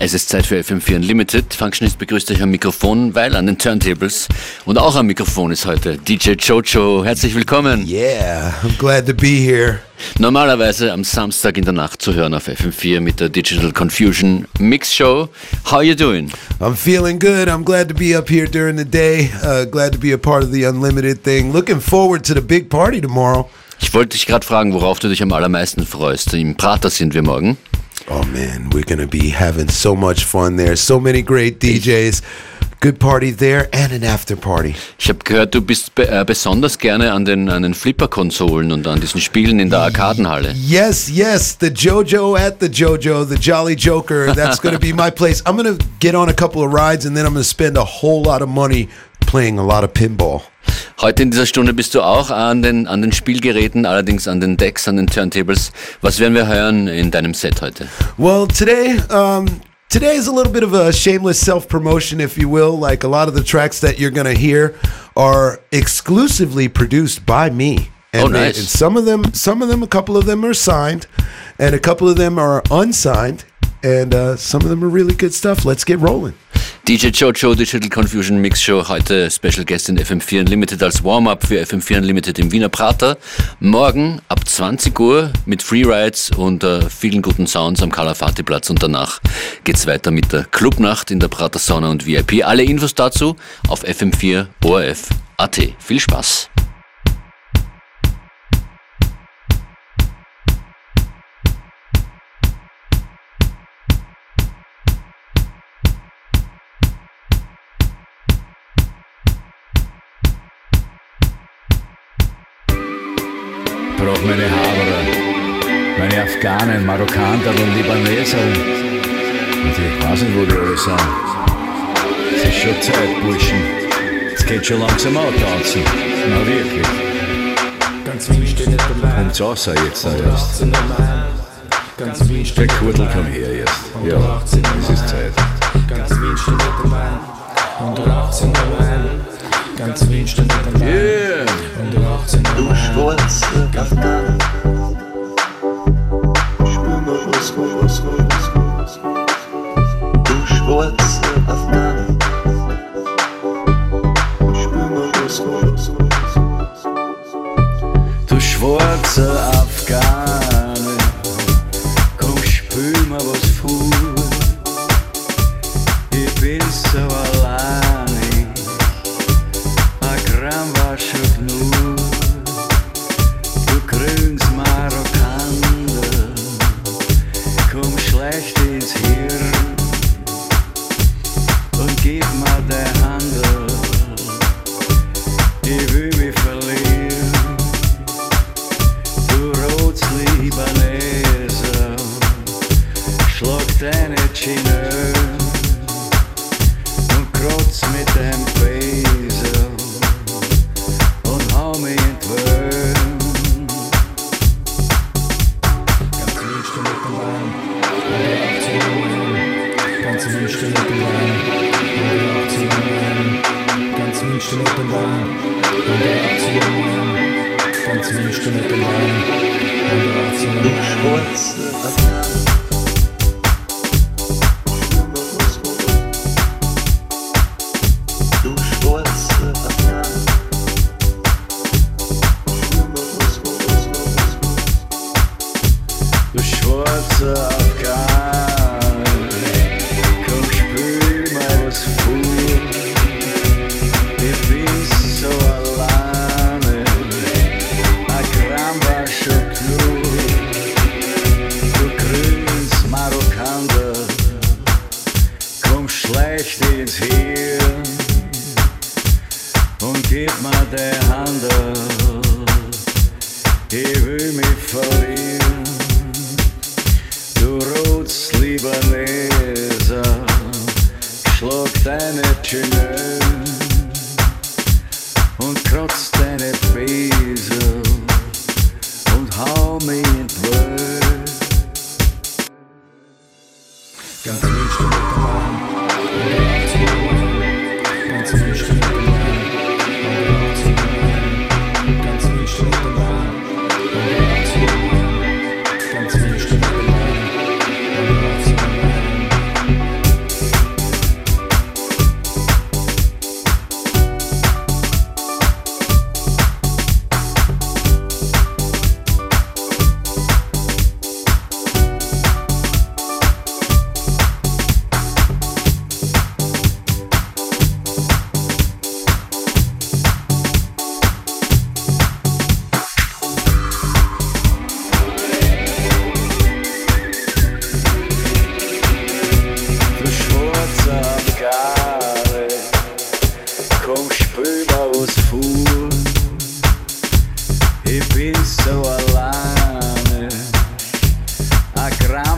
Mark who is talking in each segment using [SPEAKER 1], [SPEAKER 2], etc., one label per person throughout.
[SPEAKER 1] Es ist Zeit für FM4 Unlimited. Functionist begrüßt euch am Mikrofon, weil an den Turntables und auch am Mikrofon ist heute DJ Jojo. Herzlich willkommen.
[SPEAKER 2] Yeah, I'm glad to be here.
[SPEAKER 1] Normalerweise am Samstag in der Nacht zu hören auf FM4 mit der Digital Confusion Mix Show. How are you doing?
[SPEAKER 2] I'm feeling good. I'm glad to be up here during the day. Glad to be a part of the Unlimited thing. Looking forward to the big party tomorrow.
[SPEAKER 1] Ich wollte dich gerade fragen, worauf du dich am allermeisten freust. Im Prater sind wir morgen.
[SPEAKER 2] Oh man, we're gonna be having so much fun there. So many great DJs. Good party there and an after party.
[SPEAKER 1] Ich habe gehört, du bist besonders gerne an den Flipper-Konsolen und an diesen Spielen in der Arkadenhalle.
[SPEAKER 2] Yes, the Jojo at the Jojo, the Jolly Joker. That's going to be my place. I'm going to get on a couple of rides and then I'm going to spend a whole lot of money playing a lot of pinball.
[SPEAKER 1] Heute in dieser Stunde bist du auch an den Spielgeräten, allerdings an den Decks, an den Turntables. Was werden wir hören in deinem Set heute?
[SPEAKER 2] Well, today is a little bit of a shameless self-promotion, if you will. Like a lot of the tracks that you're going to hear are exclusively produced by me. And
[SPEAKER 1] nice.
[SPEAKER 2] And some of them, a couple of them are signed, and a couple of them are unsigned, and some of them are really good stuff. Let's get rolling.
[SPEAKER 1] DJ Jojo, Digital Confusion Mix Show, heute Special Guest in FM4 Unlimited als Warm-Up für FM4 Unlimited im Wiener Prater. Morgen ab 20 Uhr mit Freerides und vielen guten Sounds am Kalafati-Platz und danach geht's weiter mit der Clubnacht in der Prater Sauna und VIP. Alle Infos dazu auf FM4 ORF.at. Viel Spaß!
[SPEAKER 3] Ich brauch meine Haberer, meine Afghanen, Marokkaner und Libaneser. Und ich weiß nicht, wo die alle sind. Es ist schon Zeit, Burschen. Es geht schon langsam antanzen. Na wirklich. Kommt's raus jetzt erst. Der Kurdel, komm her jetzt. Ja, es ist Zeit. Yeah!
[SPEAKER 4] Du schwarze Afghan, spür mal was. Du schwarze Afghan, spür mal was.
[SPEAKER 3] Du schwarze Afghane, komm spül mal was vor. Ich bin so alleine, ein Gramm war schon genug. Du grünes Marokkaner, komm schlecht ins Hirn und gib mir die Hand. Ich will mich verlieren. Du rotes Libaneser, schlag deine Chineur und krotz mit dem Besen und hau mich in die Welt. Ganz München mit dem Wein, ganz München mit dem Wein, ganz München mit dem Wein,
[SPEAKER 4] Du schwarze Afghan, spür mal was. Du schwarze Afghan, spür mal was.
[SPEAKER 3] du schwarze Afghan, komm spül mal was vor. Ich bin so alleine, ein Gramm war schon genug. Du grünes Marokkaner, komm schlecht ins Hirn und gib mir die Hand. Ich will mich verlieren. Du rotes Libaneser, schlag deine Chineur und krotz deine Besen und hau mich in die Welt. Ganz München mit dem Wein, ganz München mit dem Wein, ganz München mit dem Wein. Ganz München mit dem Wein,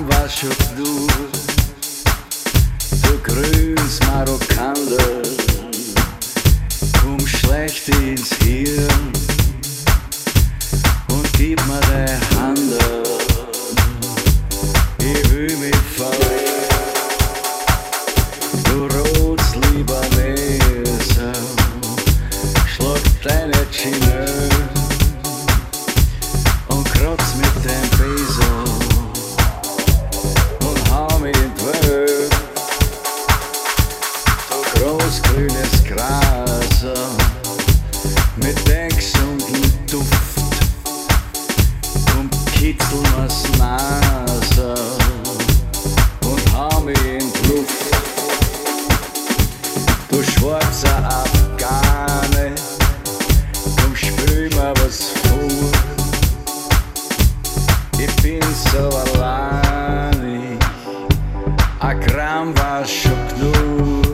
[SPEAKER 3] was schon du grünes Marokkaner, komm schlecht ins Hirn und gib mir die Hand. Ich will mich verlieren, du rotes Libaneser, schlag deine Chineur und kratz mit dem Besen und hau mich in die Welt. Du großgrünes Gras mit dem gesunden Duft, komm kitzel mir's Nase und hau mich in die Luft. Du schwarzer Afghane, komm spül mir was vor. Ich bin so allein, ein Gramm war schon genug.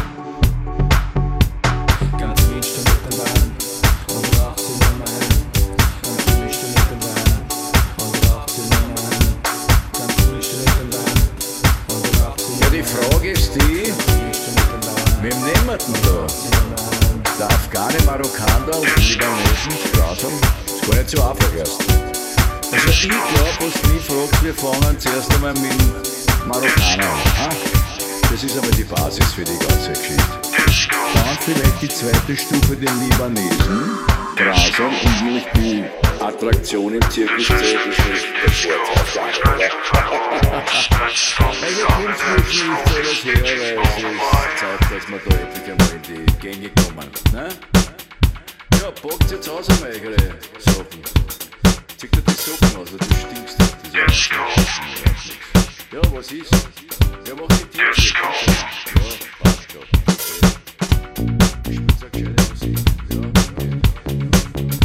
[SPEAKER 5] Ganz mischte mit dem Wein und raucht sie in mein Hand. Ganz mischte mit dem Wein und raucht sie in mein Hand. Ganz mischte mit dem Wein und raucht sie in
[SPEAKER 3] Ja, die Frage ist die, wem nehmen wir denn da? Der Afghane, Marokkaner und die Libanesen Sprachen? Ist gar nicht so einfach erst. Also ich glaube, was du mich fragst, wir fangen zuerst einmal mit dem Marokkaner an. Das ist aber die Basis für die ganze Geschichte. Dann vielleicht die zweite Stufe, den Libanesen, Grasern, und will ich die Attraktion im Zirkus zählen, das ist der Sportaufgang, oder? Also kommst du nicht alles her, weil es ist Zeit, dass wir da endlich einmal in die Gänge kommen. Ne? Ja, packt jetzt aus einmal eure Sachen. Zieh dir die Socken aus, du stinkst. Das ist ja was ist? Ja, mach die Tür. Ja, passt schon. Ich spiel's auch gescheite Musik. Ja, okay.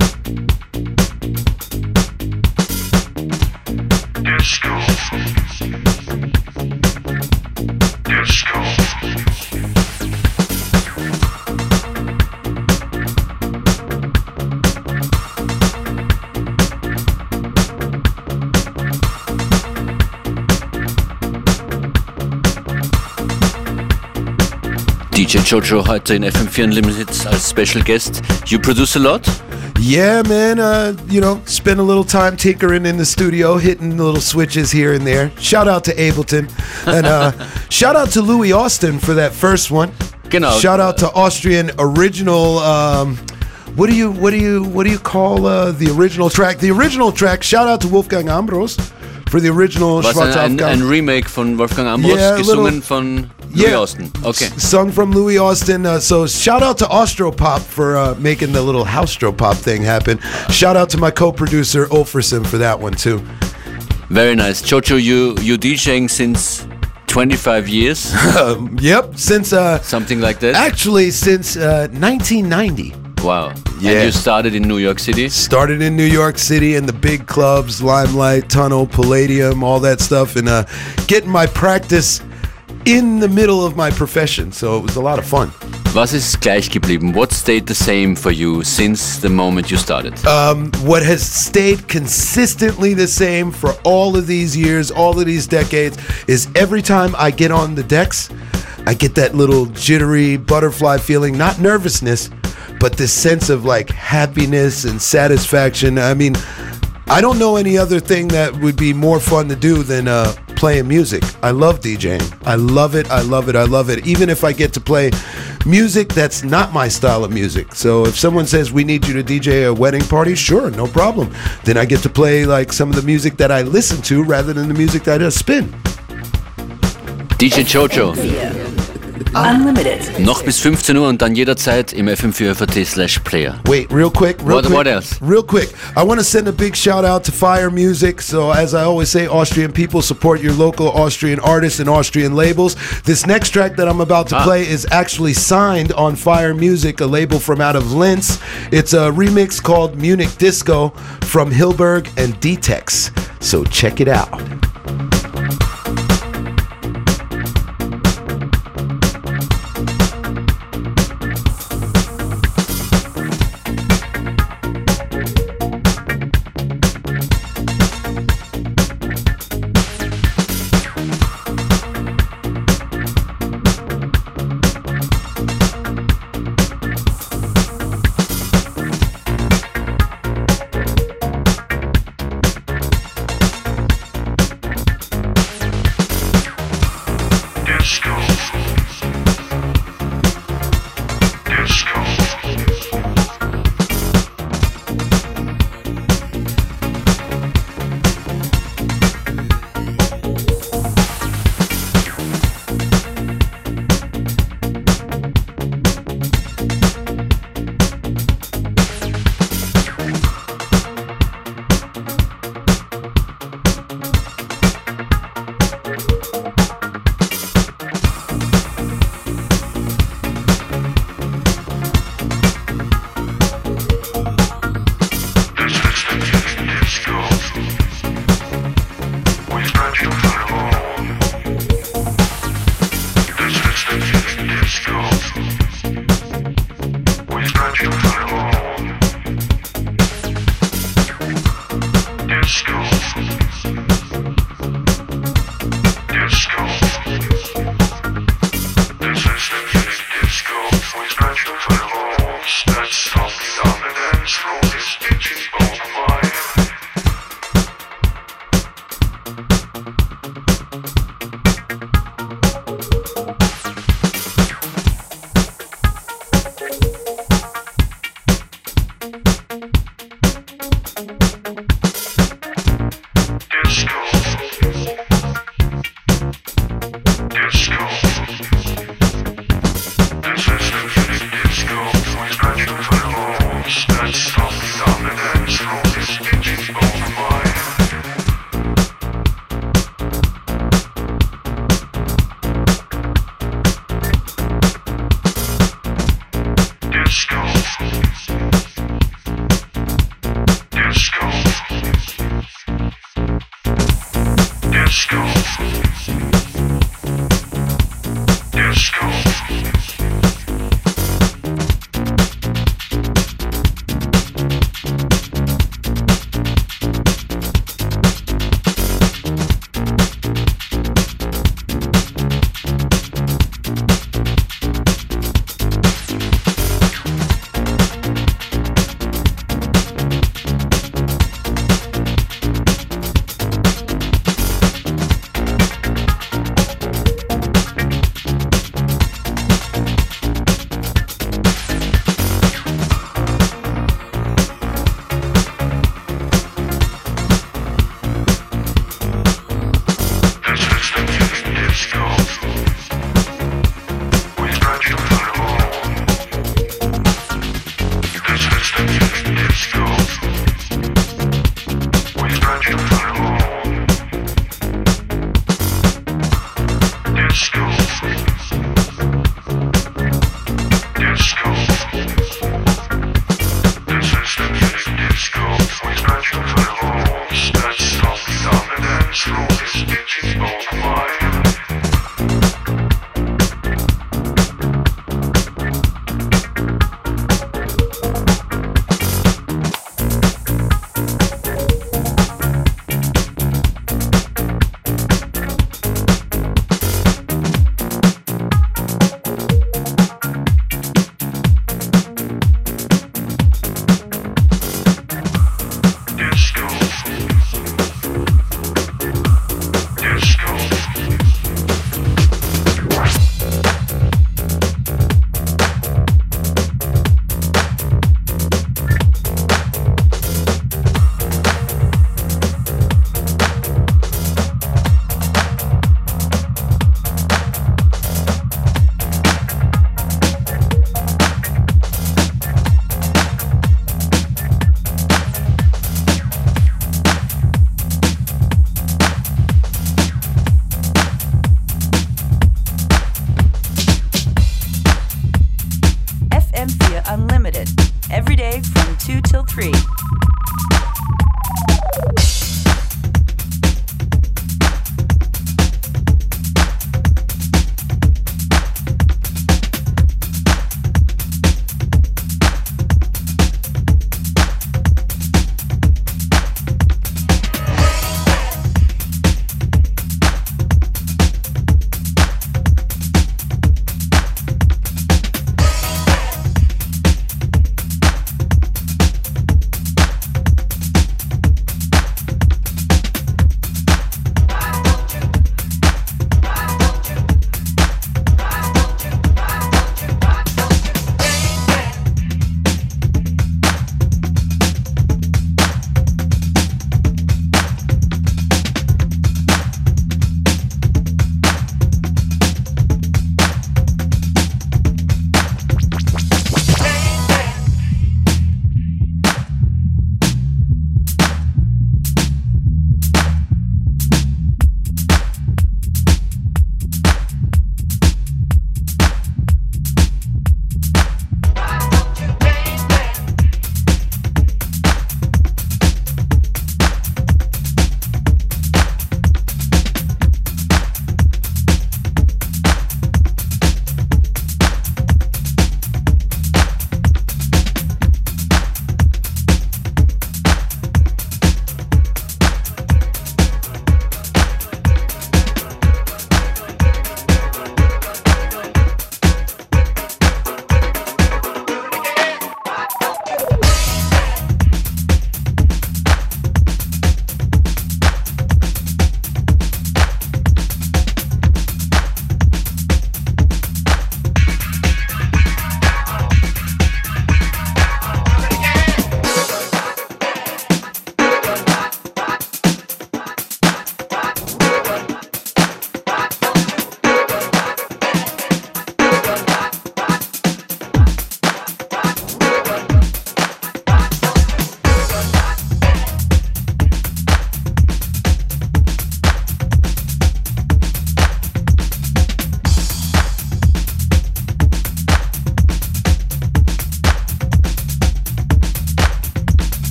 [SPEAKER 1] DJ Jojo heute in FM4 Unlimited als Special Guest. You produce a lot?
[SPEAKER 2] Yeah, man. Spend a little time tinkering in the studio, hitting little switches here and there. Shout out to Ableton, and shout out to Louis Austin for that first one.
[SPEAKER 1] Genau.
[SPEAKER 2] Shout out to Austrian original. What do you call the original track? The original track. Shout out to Wolfgang Ambros for the original.
[SPEAKER 1] Was ein Remake von Wolfgang Ambros,
[SPEAKER 2] Yeah,
[SPEAKER 1] gesungen von Louis Austin. Okay.
[SPEAKER 2] Sung from Louis Austin. So shout out to Austropop for making the little Haustropop thing happen. Shout out to my co-producer Ulferson for that one too.
[SPEAKER 1] Very nice. Jojo, you DJing since 25 years?
[SPEAKER 2] Yep, since
[SPEAKER 1] Something like that?
[SPEAKER 2] actually since 1990.
[SPEAKER 1] Wow.
[SPEAKER 2] Yeah.
[SPEAKER 1] And you started in New York City?
[SPEAKER 2] Started in New York City in the big clubs, Limelight, Tunnel, Palladium, all that stuff, and getting my practice in the middle of my profession. So it was a lot of fun.
[SPEAKER 1] Was ist gleich geblieben? What stayed the same for you since the moment you started?
[SPEAKER 2] What has stayed consistently the same for all of these years, all of these decades, is every time I get on the decks, I get that little jittery butterfly feeling, not nervousness, but this sense of like happiness and satisfaction. I mean, I don't know any other thing that would be more fun to do than playing music. I love DJing. I love it. I love it. I love it. Even if I get to play music that's not my style of music. So if someone says we need you to DJ a wedding party, sure, no problem. Then I get to play like some of the music that I listen to rather than the music that I just spin.
[SPEAKER 1] DJ Jojo.
[SPEAKER 6] Unlimited.
[SPEAKER 1] Noch bis 15 Uhr und dann jederzeit im FM4FAT/Player.
[SPEAKER 2] Wait, real quick.
[SPEAKER 1] What else?
[SPEAKER 2] Real quick. I want to send a big shout out to Fire Music. So as I always say, Austrian people, support your local Austrian artists and Austrian labels. This next track that I'm about to play is actually signed on Fire Music, a label from out of Linz. It's a remix called Munich Disco from Hilberg and D-Tex. So check it out.
[SPEAKER 6] Disco.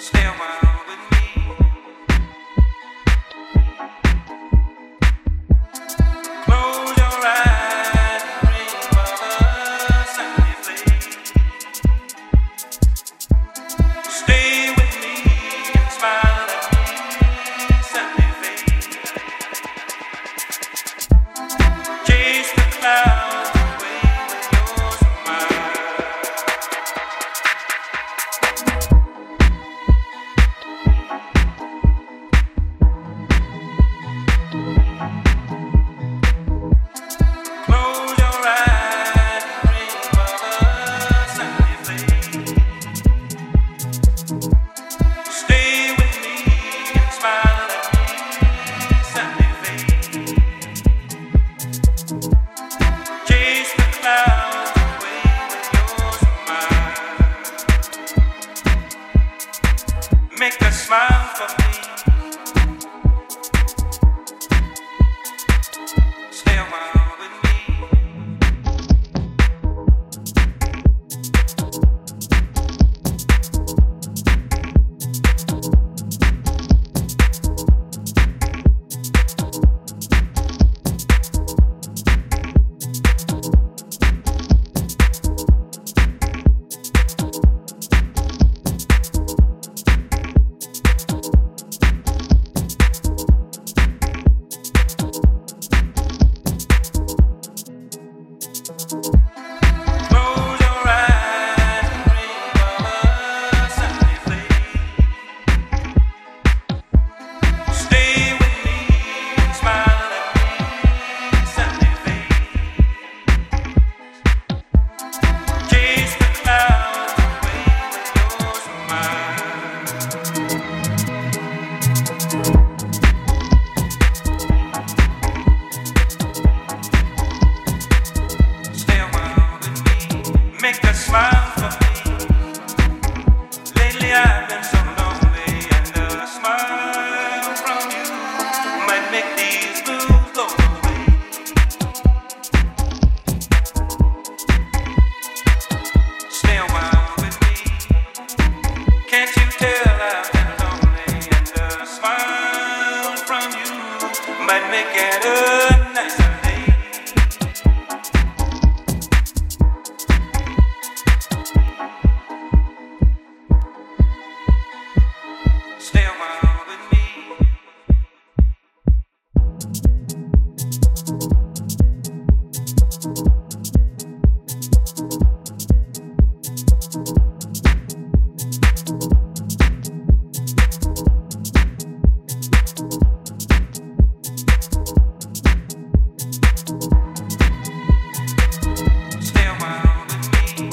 [SPEAKER 5] Stay a while with me. Close your eyes and dream of a sunny place. Stay with me and smile at me, sunny face. Chase the clouds away with your smile. Close your eyes and dream of a sunny place. Stay with me and smile at me, sunny face. Chase the clouds away with your smile. Make a smile for me. Stay a while with me. Close your eyes and dream of a sunny place. Stay with me and smile at me, sunny face. Chase the clouds away with your smile. Stay a while with me, make a smile for me. Lately I've been so lonely, and a smile from you might make these blues go away. Stay a while with me, can't you tell I've been lonely, and a smile from you might make it a nicer day. Stay a while with me. Stay a while with me.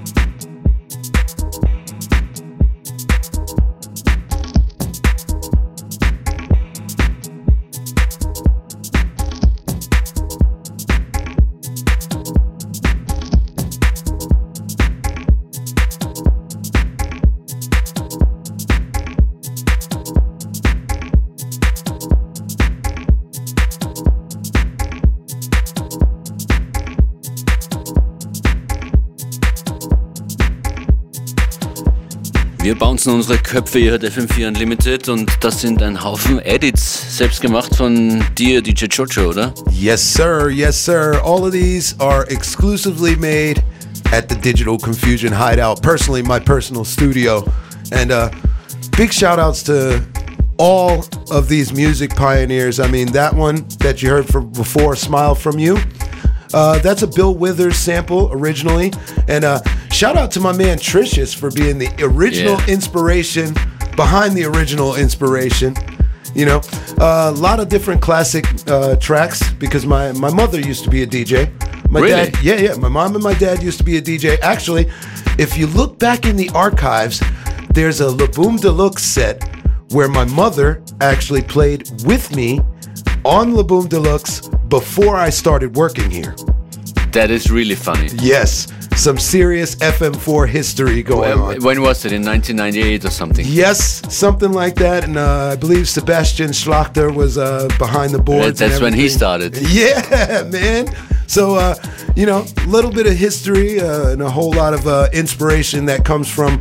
[SPEAKER 1] Wir bouncen unsere Köpfe hier at FM4 Unlimited und das sind ein Haufen Edits, selbst gemacht von dir, DJ Jojo, oder?
[SPEAKER 2] Yes, sir. Yes, sir. All of these are exclusively made at the Digital Confusion Hideout. Personally, my personal studio. And big shout outs to all of these music pioneers. I mean, that one that you heard from before, Smile From You, that's a Bill Withers sample originally. And shout out to my man Tricious for being the original inspiration behind the original inspiration. You know, a lot of different classic tracks because my mother used to be a DJ. My
[SPEAKER 1] Really?
[SPEAKER 2] dad, yeah. My mom and my dad used to be a DJ. Actually, if you look back in the archives, there's a La Boom Deluxe set where my mother actually played with me on La Boom Deluxe before I started working here.
[SPEAKER 1] That is really funny.
[SPEAKER 2] Yes, some serious FM4 history going on.
[SPEAKER 1] When was it? In 1998 or something?
[SPEAKER 2] Yes, something like that. And I believe Sebastian Schlachter was behind the boards.
[SPEAKER 1] That's
[SPEAKER 2] and
[SPEAKER 1] when he
[SPEAKER 2] everything.
[SPEAKER 1] started.
[SPEAKER 2] Yeah, man. So, you know, a little bit of history and a whole lot of inspiration that comes from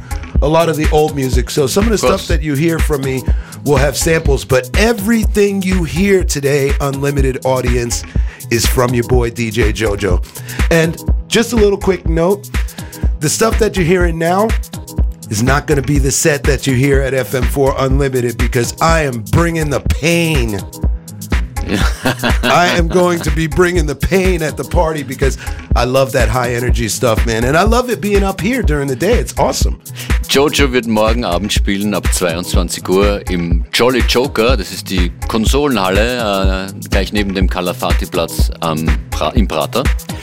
[SPEAKER 2] a lot of the old music. So some of the
[SPEAKER 1] course.
[SPEAKER 2] stuff that you hear from me will have samples, but everything you hear today, Unlimited audience, is from your boy DJ Jojo. And just a little quick note, the stuff that you're hearing now is not going to be the set that you hear at FM4 Unlimited, because I am bringing the pain. I am going to be bringing the pain at the party, because I love that high energy stuff, man. And I love it being up here during the day. It's awesome.
[SPEAKER 1] Jojo wird morgen Abend spielen ab 22 Uhr im Jolly Joker. Das ist die Konsolenhalle, gleich neben dem Calafati-Platz im Prater.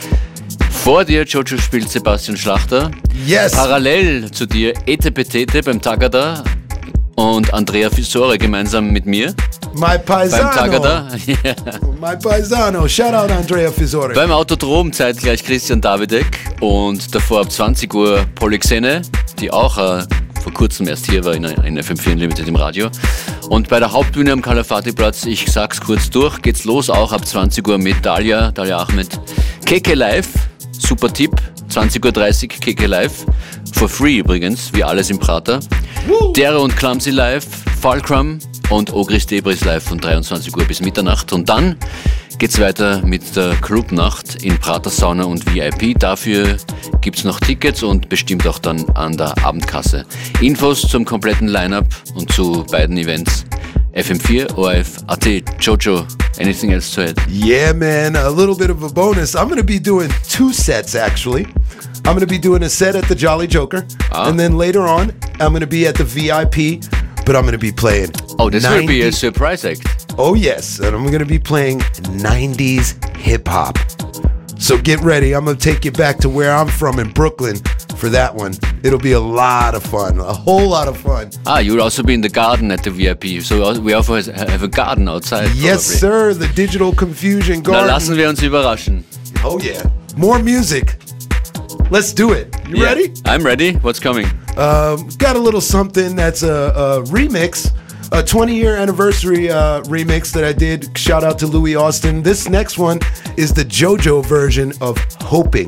[SPEAKER 1] Vor dir, Jojo, spielt Sebastian Schlachter.
[SPEAKER 2] Yes.
[SPEAKER 1] Parallel zu dir Ete Petete beim Tagada und Andrea Fisore gemeinsam mit mir
[SPEAKER 2] My paisano.
[SPEAKER 1] beim Tagada. Ja.
[SPEAKER 2] My paisano. Shout out Andrea Fisore.
[SPEAKER 1] Beim Autodrom zeitgleich Christian Davidek und davor ab 20 Uhr Polyxene, die auch vor kurzem erst hier war in FM4 Unlimited im Radio. Und bei der Hauptbühne am Calafati-Platz, ich sag's kurz durch, geht's los, auch ab 20 Uhr mit Dalia Ahmed. KK Live, super Tipp, 20.30 Uhr KK Live, for free übrigens, wie alles im Prater. Dere und Clumsy Live, Fulcrum und Ogris Debris Live von 23 Uhr bis Mitternacht. Und dann geht's weiter mit der Clubnacht in Prater Sauna und VIP. Dafür gibt's noch Tickets und bestimmt auch dann an der Abendkasse. Infos zum kompletten Line-Up und zu beiden Events FM4 ORF.at. Jojo, anything else to add?
[SPEAKER 2] Yeah, man, a little bit of a bonus. I'm going to be doing 2 sets, actually. I'm going to be doing a set at the Jolly Joker, and then later on, I'm going to be at the VIP, but I'm going to be playing.
[SPEAKER 1] Oh, this will be a surprise act.
[SPEAKER 2] Oh, yes, and I'm going to be playing 90s hip-hop. So get ready. I'm going to take you back to where I'm from in Brooklyn for that one. It'll be a lot of fun, a whole lot of fun.
[SPEAKER 1] You'll also be in the garden at the VIP. So we also have a garden outside.
[SPEAKER 2] Yes,
[SPEAKER 1] probably.
[SPEAKER 2] sir, the Digital Confusion
[SPEAKER 1] Na,
[SPEAKER 2] Garden.
[SPEAKER 1] lassen wir uns überraschen.
[SPEAKER 2] Oh, yeah. More music. Let's do it. You
[SPEAKER 1] Yeah,
[SPEAKER 2] ready?
[SPEAKER 1] I'm ready. What's coming?
[SPEAKER 2] Got a little something that's a remix, a 20-year anniversary remix that I did. Shout out to Louis Austin. This next one is the JoJo version of Hoping.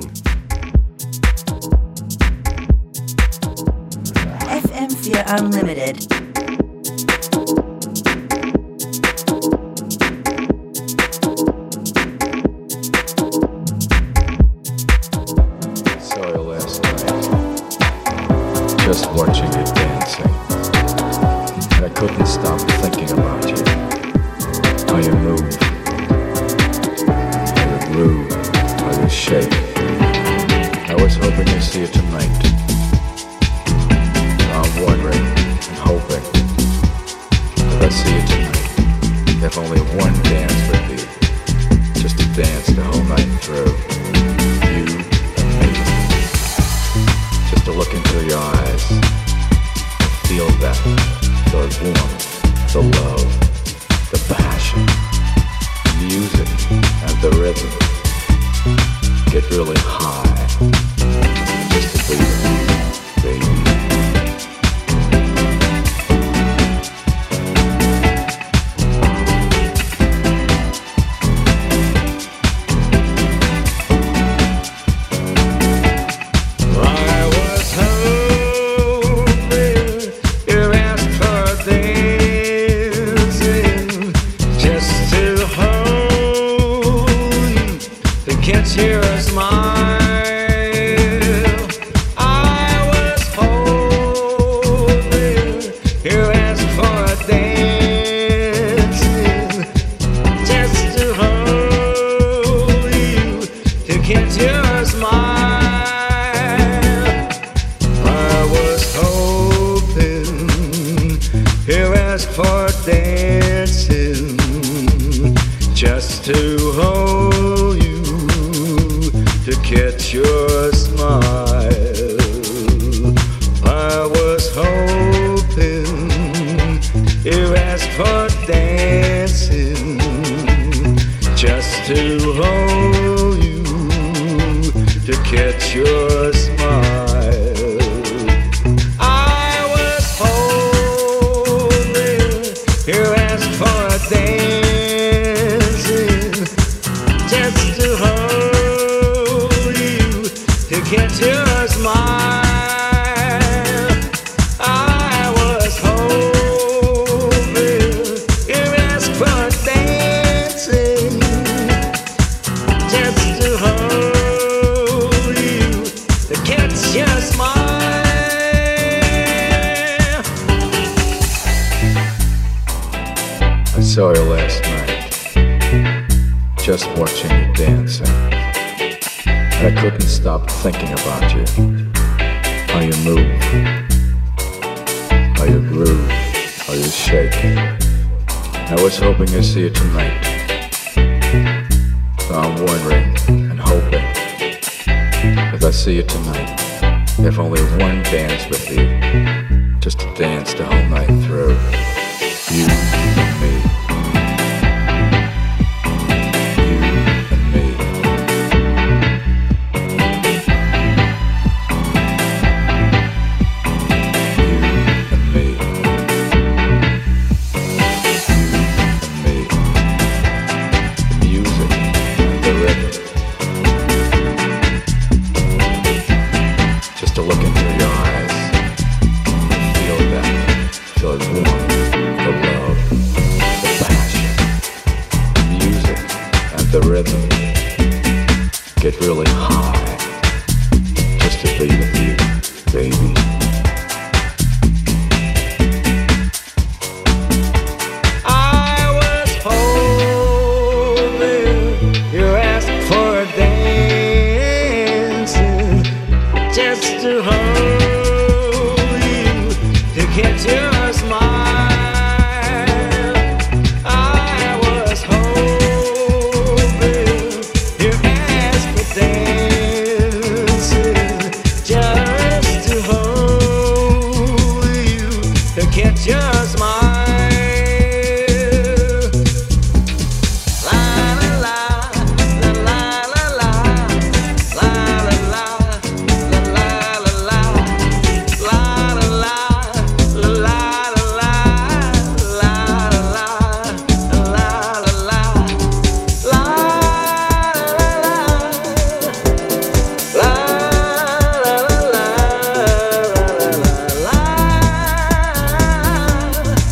[SPEAKER 6] FM4 Unlimited.
[SPEAKER 3] Saw you last night, just watching you dancing, and I couldn't stop thinking about you. How you move, how you groove, how you shake. I was hoping to see you tonight. I'm wondering and hoping that I see you tonight. Have only one dance with you, just to dance the whole night through. You and me. Just to look into your eyes, feel that, the warmth, the love, the passion, the music and the rhythm. Get really high, just to be with you, baby. saw you last night, just watching you dancing. And I couldn't stop thinking about you. How you move, how you groove, how you shake. I was hoping to see you tonight. So I'm wondering and hoping, as I see you tonight, if only one dance with you, just to dance the whole night through. You and me. You and me. You and me. You and me. The music and the rhythm. Just to look into your eyes and feel that, feel it warm. The love, the passion, the music, and the rhythm get really high just to be with you, baby. I was hoping you asked for a dance, just to hold you, to catch your smile. Just smile. La la la, la la la la, la la la, la la la la, la la la, la la la, la la la, la.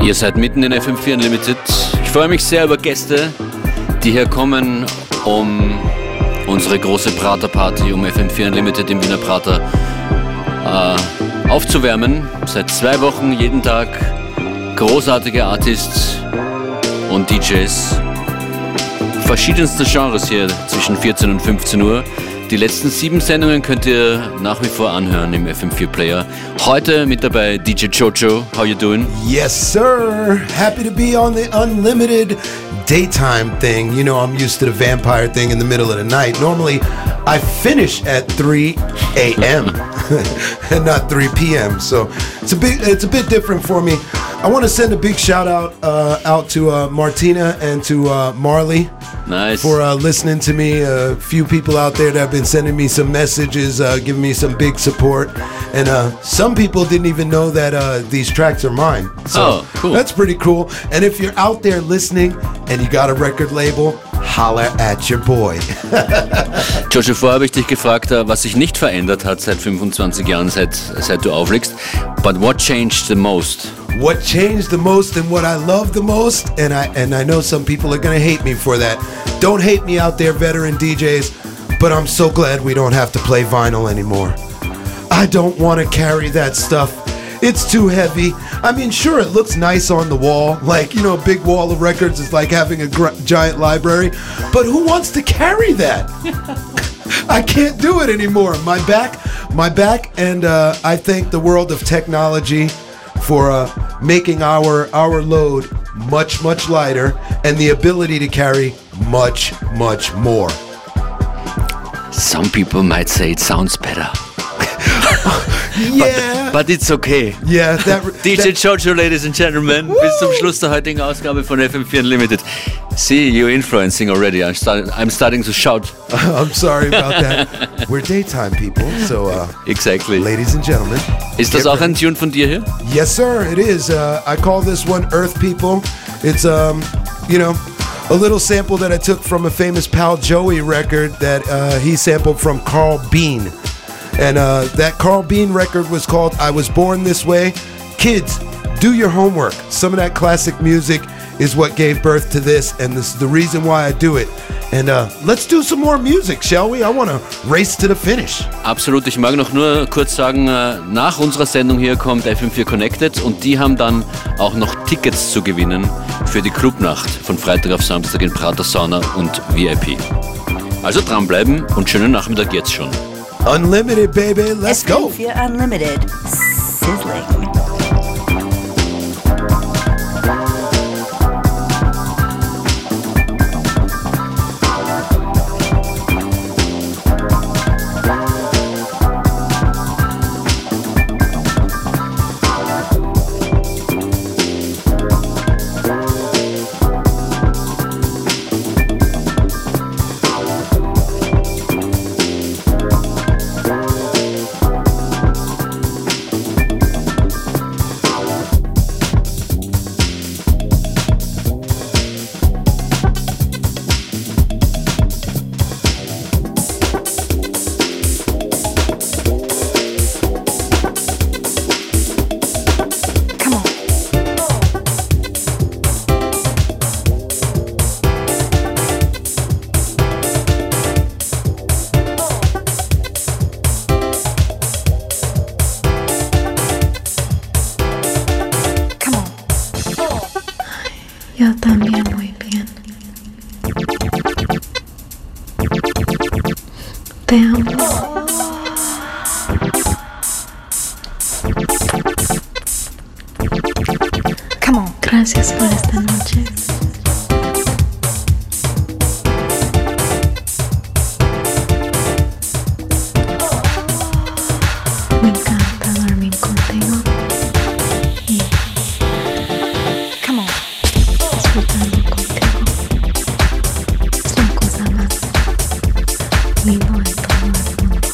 [SPEAKER 1] Ihr seid mitten in FM4 Unlimited. Ich freue mich sehr über Gäste, die hier kommen, um unsere große Prater-Party um FM4 Unlimited im Wiener Prater aufzuwärmen. Seit 2 Wochen jeden Tag großartige Artists und DJs verschiedenster Genres hier zwischen 14 und 15 Uhr. Die letzten 7 Sendungen könnt ihr nach wie vor anhören im FM4 Player. Heute mit dabei DJ Jojo. How you doing?
[SPEAKER 2] Yes, sir. Happy to be on the unlimited daytime thing. You know, I'm used to the vampire thing in the middle of the night. Normally, I finish at 3 a.m. and not 3 p.m. So it's a bit different for me. I want to send a big shout out to Martina and to Marley.
[SPEAKER 1] Nice.
[SPEAKER 2] For listening to me. A few people out there that have been sending me some messages, giving me some big support. And some people didn't even know that these tracks are mine. So
[SPEAKER 1] cool.
[SPEAKER 2] That's pretty cool. And if you're out there listening and you got a record label, holler at your boy.
[SPEAKER 1] Jojo, vorher habe ich dich gefragt, was sich nicht verändert hat seit 25 Jahren, seit du auflegst. But what changed the most?
[SPEAKER 2] What changed the most and what I love the most, and I know some people are gonna hate me for that. Don't hate me out there, veteran DJs, but I'm so glad we don't have to play vinyl anymore. I don't want to carry that stuff. It's too heavy. I mean, sure, it looks nice on the wall. Like, you know, a big wall of records is like having a giant library. But who wants to carry that? I can't do it anymore. My back, and I thank the world of technology for making our load much, much lighter and the ability to carry much, much more.
[SPEAKER 1] Some people might say it sounds better.
[SPEAKER 2] Yeah.
[SPEAKER 1] But it's okay.
[SPEAKER 2] Yeah,
[SPEAKER 1] DJ Jojo, ladies and gentlemen, bis zum Schluss der heutigen Ausgabe von FM4 Unlimited. See, you're influencing already. I'm starting to shout.
[SPEAKER 2] I'm sorry about that. We're daytime people, so
[SPEAKER 1] exactly.
[SPEAKER 2] Ladies and gentlemen.
[SPEAKER 1] Ist das auch ein Tune von dir hier?
[SPEAKER 2] Yes, sir, it is. I call this one Earth People. It's, you know, a little sample that I took from a famous Pal Joey record that he sampled from Carl Bean. And that Carl Bean record was called I Was Born This Way. Kids, do your homework. Some of that classic music is what gave birth to this, and this is the reason why I do it. And let's do some more music, shall we? I want to race to the finish.
[SPEAKER 1] Absolut. Ich mag noch nur kurz sagen, nach unserer Sendung hier kommt FM4 Connected und die haben dann auch noch Tickets zu gewinnen für die Clubnacht von Freitag auf Samstag in Prater Sauna und VIP. Also dranbleiben und schönen Nachmittag jetzt schon.
[SPEAKER 2] Unlimited, baby. Let's go.
[SPEAKER 6] FM4 Unlimited. Sizzling.
[SPEAKER 7] Yo también muy bien. Te amo. Come on. Gracias por esta noche. Me encanta dormir contigo. Y disfrutando contigo. Es la cosa más linda en todo el mundo.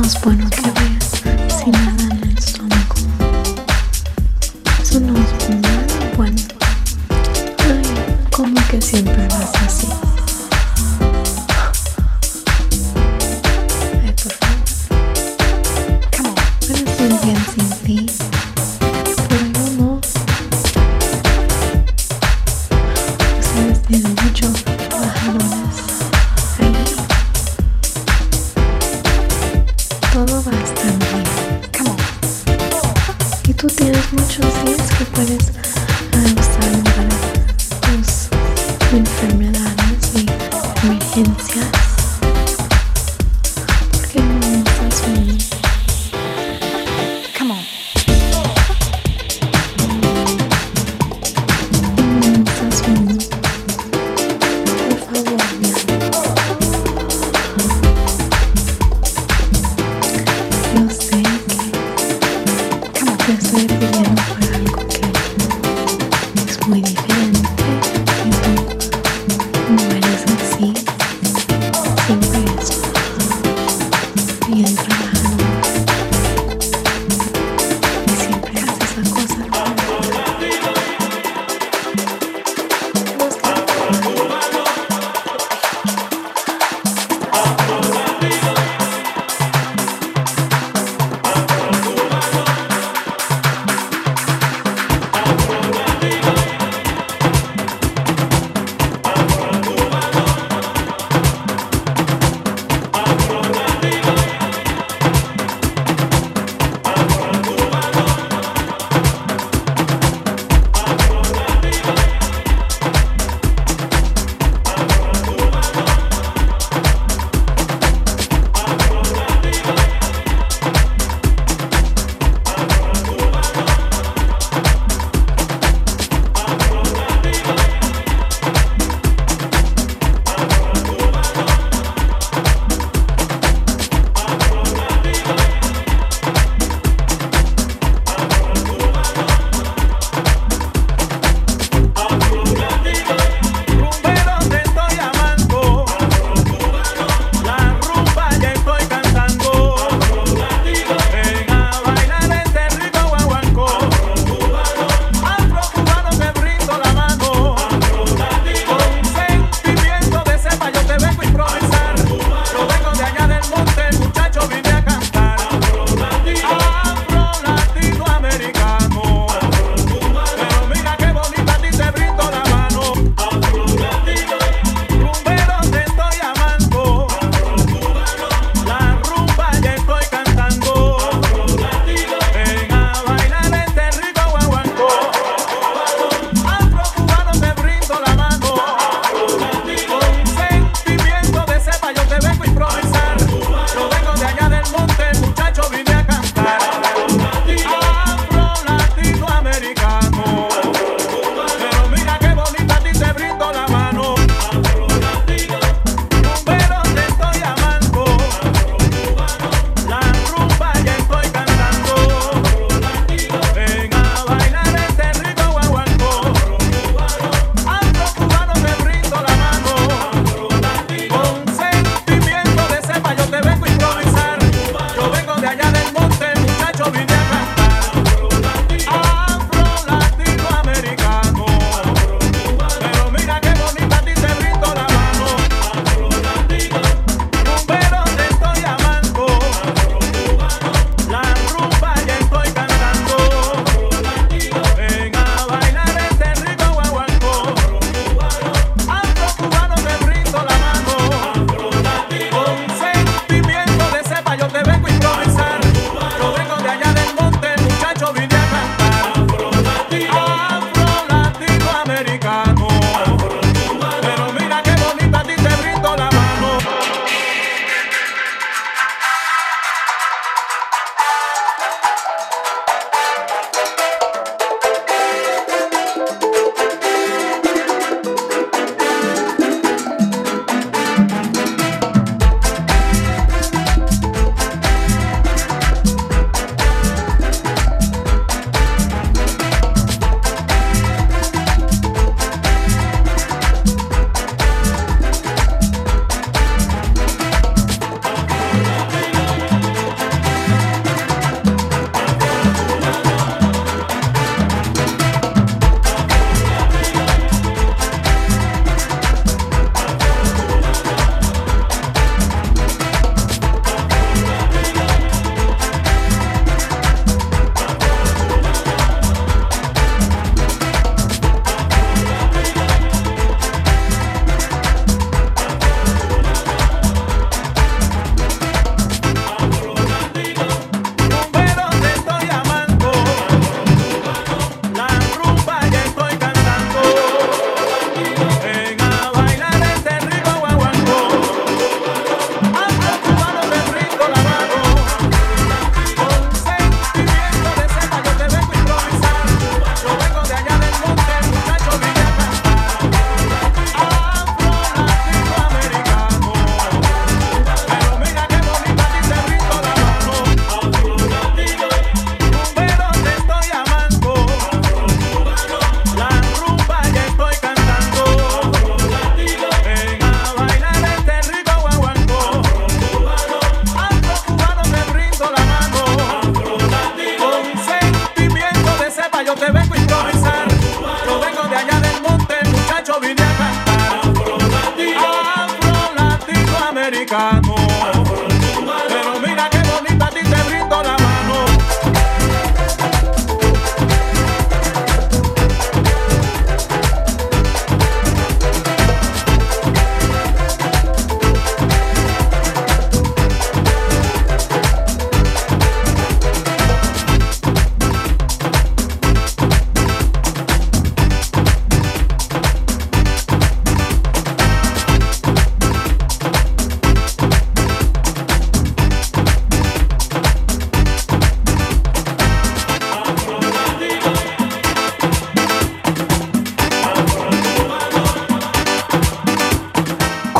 [SPEAKER 7] es bueno que veas sin nada en el estómago. Eso no es bueno. Ay, como que siempre vas así. Ay, por favor. Come on. Puedes ir bien sin ti, pero yo no. Ustedes tienen mucho bajones ahí. Todo va a estar bien. Come on. Y tú tienes muchos días que puedes usar para tus enfermedades y emergencias. ¿Por qué no estás bien? Come on. No estás bien. Por favor, mi amor. Yo sé que te estoy pidiendo por algo que es muy diferente y tú no eres así. Siempre es bien trabajando y siempre haces la cosa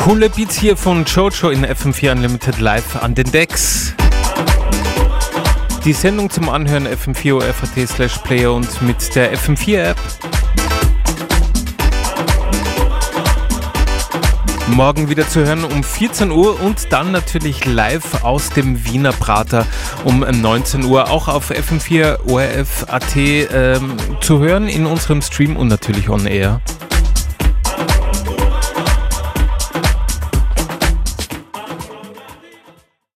[SPEAKER 8] Coole Beats hier von Jojo in FM4 Unlimited live an den Decks. Die Sendung zum Anhören fm4.at/player und mit der FM4-App. Morgen wieder zu hören um 14 Uhr und dann natürlich live aus dem Wiener Prater um 19 Uhr, auch auf FM4 ORF.at zu hören in unserem Stream und natürlich on air.